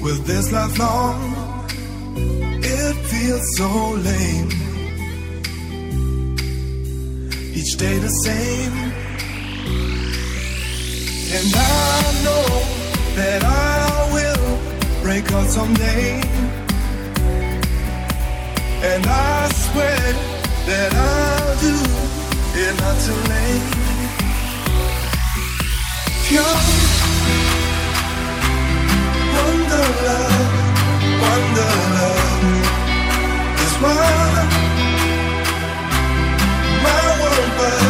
Will this last long? It feels so lame. Each day the same. And I know that I will break out someday. And I swear that I'll do it not too late. Pure wonder love is what my world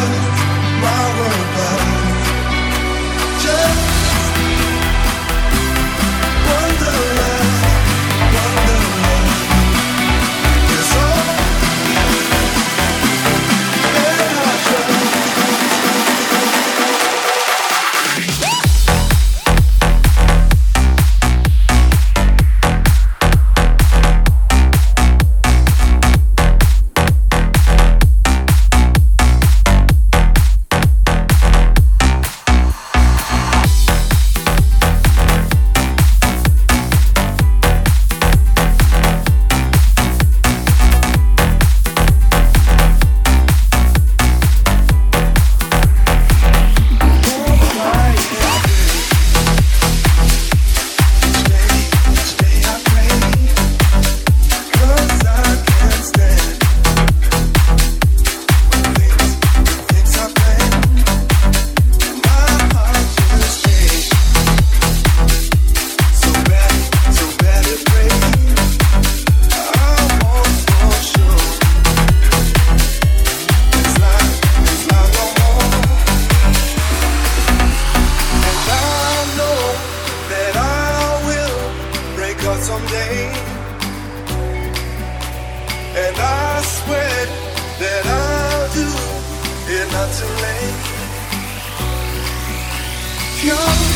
was. Just wonder love is all that I trust. Someday, and I swear that I'll do it not too late. You're